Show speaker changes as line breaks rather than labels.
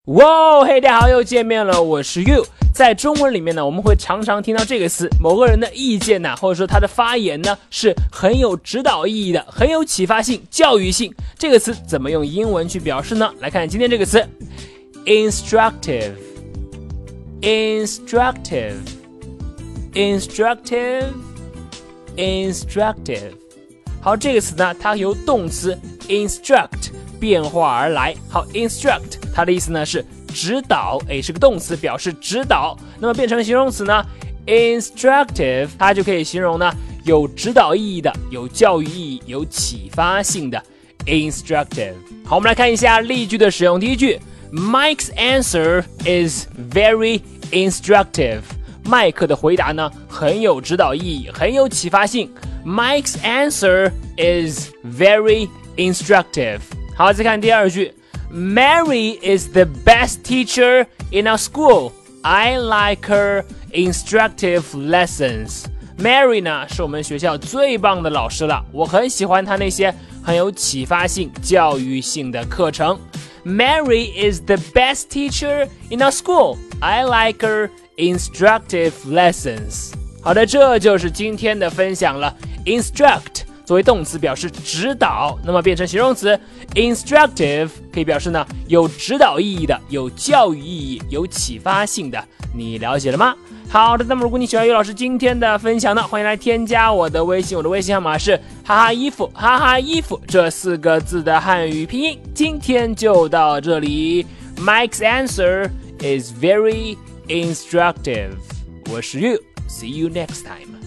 哇，嘿，大家好，又见面了，我是 You。在中文里面呢，我们会常常听到这个词，某个人的意见呢，或者说他的发言呢，是很有指导意义的，很有启发性、教育性。这个词怎么用英文去表示呢？来看今天这个词 ，instructive， instructive， instructive， instructive。好，这个词呢，它由动词 instruct 变化而来。好 ，instruct 它的意思呢是指导，是个动词，表示指导。那么变成形容词呢 ，instructive 它就可以形容呢有指导意义的、有教育意义、有启发性的 instructive。好，我们来看一下例句的使用。第一句 ，Mike's answer is very instructive。麦克的回答呢很有指导意义，很有启发性。Mike's answer is very instructive。好，再看第二句。Mary is the best teacher in our school. I like her instructive lessons. Mary 呢是我们学校最棒的老师了，我很喜欢她那些很有启发性、教育性的课程。Mary is the best teacher in our school. I like her instructive lessons. 好的，这就是今天的分享了。Instruct 作为动词表示指导，那么变成形容词 instructive 可以表示呢有指导意义的、有教育意义、有启发性的。你了解了吗？好的，那么如果你喜欢于老师今天的分享呢，欢迎来添加我的微信，我的微信号码是哈哈衣服哈哈衣服这4个字的汉语拼音。今天就到这里。Mike's answer is very instructive。我是 You，see you next time。